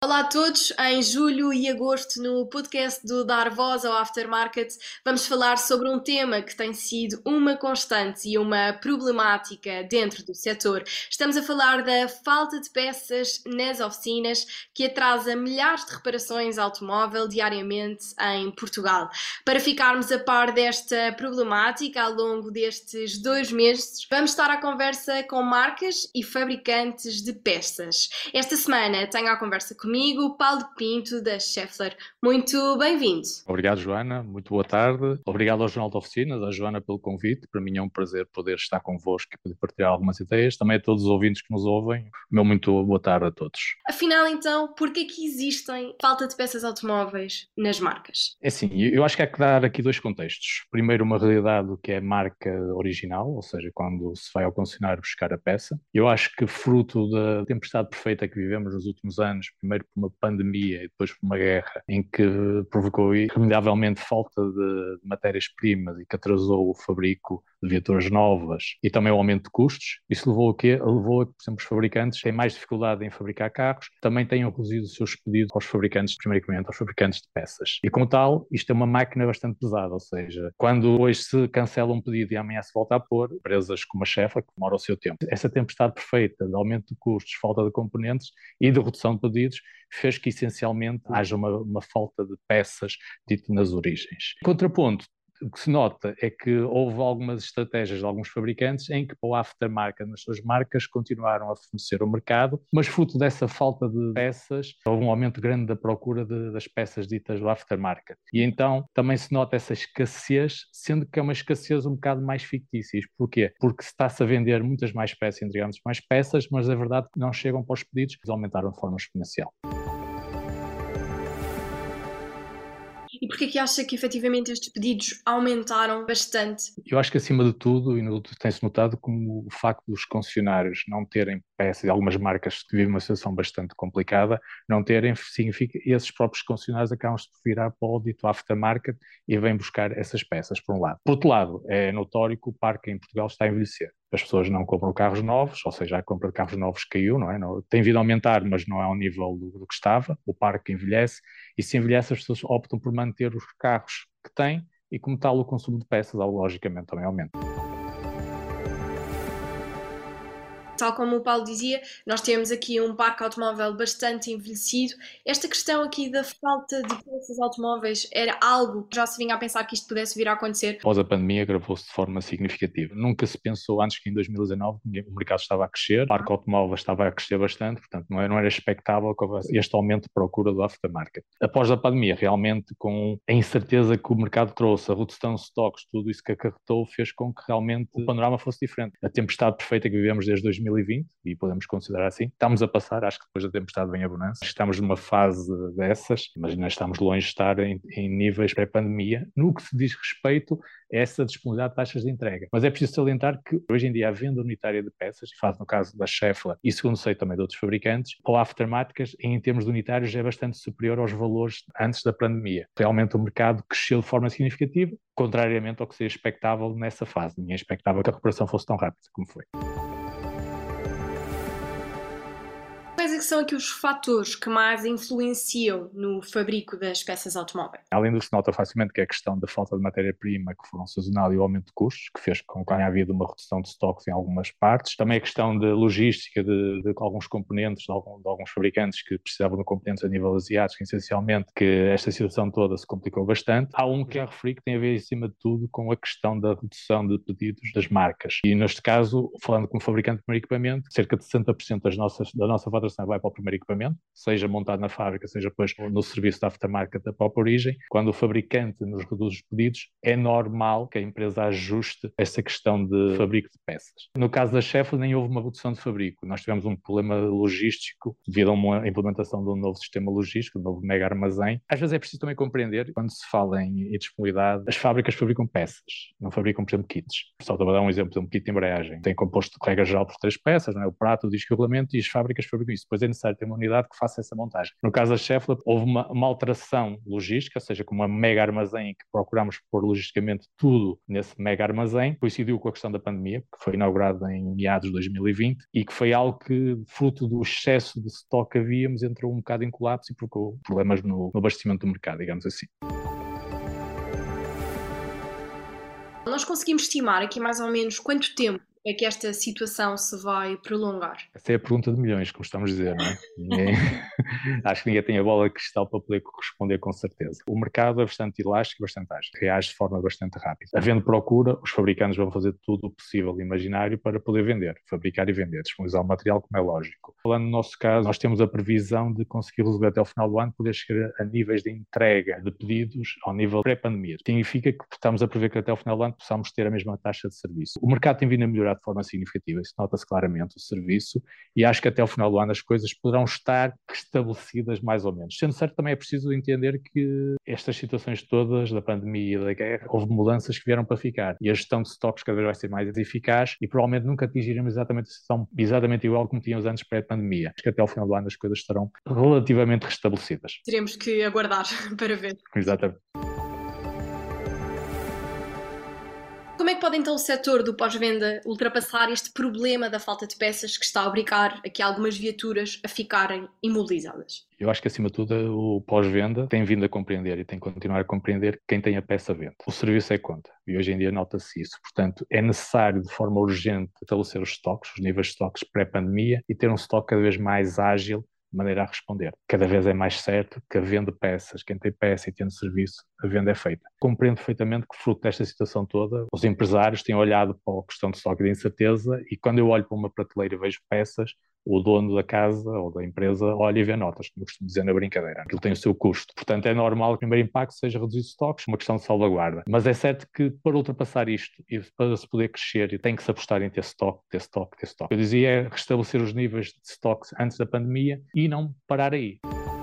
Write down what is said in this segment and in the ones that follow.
Olá a todos, em julho e agosto no podcast do Dar Voz ao Aftermarket vamos falar sobre um tema que tem sido uma constante e uma problemática dentro do setor. Estamos a falar da falta de peças nas oficinas que atrasa milhares de reparações automóvel diariamente em Portugal. Para ficarmos a par desta problemática ao longo destes 2 meses, vamos estar à conversa com marcas e fabricantes de peças. Esta semana tenho à conversa comigo Paulo Pinto, da Schaeffler. Muito bem-vindo. Obrigado, Joana. Muito boa tarde. Obrigado ao Jornal de Oficinas, à Joana pelo convite. Para mim é um prazer poder estar convosco e poder partilhar algumas ideias. Também a todos os ouvintes que nos ouvem. Meu muito boa tarde a todos. Afinal, então, por que é que existem falta de peças automóveis nas marcas? É assim, eu acho que há que dar aqui dois contextos. Primeiro, uma realidade que é a marca original, ou seja, quando se vai ao concessionário buscar a peça. Eu acho que fruto da tempestade perfeita que vivemos nos últimos anos, primeiro por uma pandemia e depois por uma guerra, em que provocou irremediavelmente falta de matérias-primas e que atrasou o fabrico de viaturas novas e também o aumento de custos, isso levou a quê? Levou a que, por exemplo, os fabricantes têm mais dificuldade em fabricar carros, também tenham reduzido os seus pedidos aos fabricantes, primeiramente aos fabricantes de peças. E como tal, isto é uma máquina bastante pesada, ou seja, quando hoje se cancela um pedido e amanhã se volta a pôr, empresas como a Schaeffler, que demora o seu tempo. Essa tempestade perfeita de aumento de custos, falta de componentes e de redução de pedidos fez que essencialmente haja uma falta de peças dito nas origens. Contraponto, o que se nota é que houve algumas estratégias de alguns fabricantes em que para o aftermarket nas suas marcas continuaram a fornecer ao mercado, mas fruto dessa falta de peças, houve um aumento grande da procura das peças ditas do aftermarket. E então também se nota essa escassez, sendo que é uma escassez um bocado mais fictícia. Porquê? Porque se está-se a vender muitas mais peças, entregamos mais peças, mas a verdade é que não chegam para os pedidos, eles aumentaram de forma exponencial. E porquê que acha que efetivamente estes pedidos aumentaram bastante? Eu acho que acima de tudo, tem-se notado como o facto dos concessionários não terem peças, e algumas marcas que vivem uma situação bastante complicada, não terem, significa que esses próprios concessionários acabam-se por virar para o dito aftermarket e vêm buscar essas peças, por um lado. Por outro lado, é notório que o parque em Portugal está a envelhecer. As pessoas não compram carros novos, ou seja, a compra de carros novos caiu, não é? Tem vindo a aumentar, mas não é ao nível do que estava. O parque envelhece e se envelhece as pessoas optam por manter os carros que têm e como tal o consumo de peças, logicamente, também aumenta. Tal como o Paulo dizia, nós temos aqui um parque automóvel bastante envelhecido. Esta questão aqui da falta de peças automóveis era algo que já se vinha a pensar que isto pudesse vir a acontecer? Após a pandemia, agravou-se de forma significativa. Nunca se pensou antes que em 2019 o mercado estava a crescer, o parque automóvel estava a crescer bastante, portanto não era expectável que houvesse este aumento de procura do aftermarket. Após a pandemia, realmente com a incerteza que o mercado trouxe, a redução de stocks, tudo isso que acarretou, fez com que realmente o panorama fosse diferente. A tempestade perfeita que vivemos desde 2020, e podemos considerar assim, estamos a passar, acho que depois da tempestade vem a bonança, estamos numa fase dessas, imagina, estamos longe de estar em níveis pré-pandemia, no que se diz respeito a essa disponibilidade de taxas de entrega. Mas é preciso salientar que hoje em dia a venda unitária de peças, faz no caso da Schaeffler e segundo sei também de outros fabricantes, ou aftermarket, em termos de unitários é bastante superior aos valores antes da pandemia. Realmente o mercado cresceu de forma significativa, contrariamente ao que seria expectável nessa fase. Ninguém expectava que a recuperação fosse tão rápida como foi. Quais é que são aqui os fatores que mais influenciam no fabrico das peças automóveis? Além do que se nota facilmente que é a questão da falta de matéria-prima que foram sazonal e o aumento de custos, que fez com que tenha havido uma redução de estoques em algumas partes. Também a questão da logística de alguns componentes, de alguns fabricantes que precisavam de componentes a nível asiático, essencialmente, que esta situação toda se complicou bastante. Há um que já referi que tem a ver, acima de tudo, com a questão da redução de pedidos das marcas. E neste caso, falando como fabricante de primeiro equipamento, cerca de 60% da nossa faturação vai para o primeiro equipamento, seja montado na fábrica, seja depois no serviço de aftermarket da própria origem. Quando o fabricante nos reduz os pedidos, é normal que a empresa ajuste essa questão de fabrico de peças. No caso da Schaeffler, nem houve uma redução de fabrico. Nós tivemos um problema logístico devido a uma implementação de um novo sistema logístico, um novo mega armazém. Às vezes é preciso também compreender, quando se fala em disponibilidade, as fábricas fabricam peças, não fabricam, por exemplo, kits. Só para dar um exemplo, um kit de embreagem. Tem composto de regra geral por 3 peças, não é? O prato, o disco e o rolamento, e as fábricas fabricam isso. Depois mas é necessário ter uma unidade que faça essa montagem. No caso da Cheflet, houve uma alteração logística, ou seja, como uma mega armazém que procurámos pôr logisticamente tudo nesse mega armazém, coincidiu com a questão da pandemia, que foi inaugurado em meados de 2020 e que foi algo que, fruto do excesso de stock que havíamos, entrou um bocado em colapso e provocou problemas no abastecimento do mercado, digamos assim. Nós conseguimos estimar aqui mais ou menos quanto tempo é que esta situação se vai prolongar? Essa é a pergunta de milhões, como estamos a dizer, não é? Acho que ninguém tem a bola de cristal para poder corresponder com certeza. O mercado é bastante elástico e bastante ágil, reage de forma bastante rápida. Havendo procura, os fabricantes vão fazer tudo o possível e imaginário para poder vender, fabricar e vender, disponibilizar o material como é lógico. Falando no nosso caso, nós temos a previsão de conseguir resolver até o final do ano, poder chegar a níveis de entrega de pedidos ao nível pré-pandemia. Significa que estamos a prever que até o final do ano possamos ter a mesma taxa de serviço. O mercado tem vindo a melhorar de forma significativa, isso nota-se claramente o serviço, e acho que até o final do ano as coisas poderão estar restabelecidas mais ou menos. Sendo certo, também é preciso entender que estas situações todas da pandemia e da guerra, houve mudanças que vieram para ficar, e a gestão de estoques cada vez vai ser mais eficaz e provavelmente nunca atingiremos exatamente a situação exatamente igual como tínhamos antes pré-pandemia. Acho que até ao final do ano as coisas estarão relativamente restabelecidas. Teremos que aguardar para ver. Exatamente. Como é que pode então o setor do pós-venda ultrapassar este problema da falta de peças que está a obrigar aqui algumas viaturas a ficarem imobilizadas? Eu acho que, acima de tudo, o pós-venda tem vindo a compreender e tem que continuar a compreender que quem tem a peça vende. O serviço é conta e hoje em dia nota-se isso. Portanto, é necessário, de forma urgente, estabelecer os estoques, os níveis de estoques pré-pandemia e ter um estoque cada vez mais ágil de maneira a responder. Cada vez é mais certo que a venda de peças, quem tem peça e tem serviço, a venda é feita. Compreendo perfeitamente que, fruto desta situação toda, os empresários têm olhado para a questão de estoque e de incerteza e quando eu olho para uma prateleira e vejo peças, o dono da casa ou da empresa olha e vê notas, como eu costumo dizer na brincadeira. Aquilo tem o seu custo. Portanto, é normal que o primeiro impacto seja reduzir estoques, uma questão de salvaguarda. Mas é certo que para ultrapassar isto e para se poder crescer, tem que se apostar em ter estoque, ter estoque, ter estoque. Eu dizia é restabelecer os níveis de estoques antes da pandemia e não parar aí.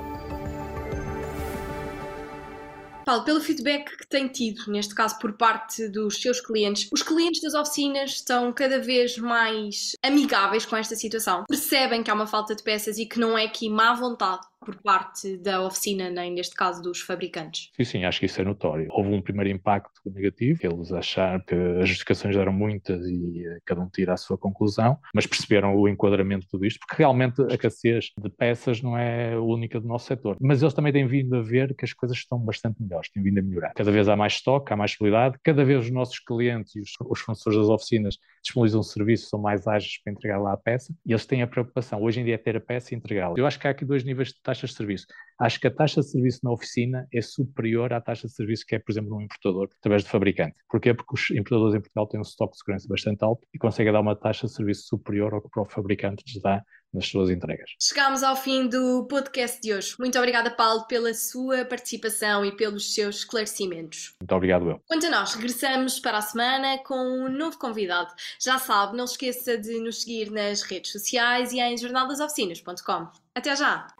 Paulo, pelo feedback que tem tido, neste caso por parte dos seus clientes, os clientes das oficinas estão cada vez mais amigáveis com esta situação? Percebem que há uma falta de peças e que não é aqui má vontade por parte da oficina, nem neste caso dos fabricantes? Sim, acho que isso é notório. Houve um primeiro impacto negativo, eles acharam que as justificações eram muitas e cada um tira a sua conclusão, mas perceberam o enquadramento de tudo isto, porque realmente a escassez de peças não é a única do nosso setor. Mas eles também têm vindo a ver que as coisas estão bastante melhores, têm vindo a melhorar. Cada vez há mais estoque, há mais possibilidade, cada vez os nossos clientes e os fornecedores das oficinas disponibilizam serviços, são mais ágeis para entregar lá a peça e eles têm a preocupação, hoje em dia, é ter a peça e entregá-la. Eu acho que há aqui dois níveis de taxas de serviço. Acho que a taxa de serviço na oficina é superior à taxa de serviço que é, por exemplo, num importador, através de fabricante. Porquê? Porque os importadores em Portugal têm um estoque de segurança bastante alto e conseguem dar uma taxa de serviço superior ao que o próprio fabricante lhes dá nas suas entregas. Chegámos ao fim do podcast de hoje. Muito obrigada, Paulo, pela sua participação e pelos seus esclarecimentos. Muito obrigado, eu. Quanto a nós, regressamos para a semana com um novo convidado. Já sabe, não se esqueça de nos seguir nas redes sociais e em jornaldasoficinas.com. Até já!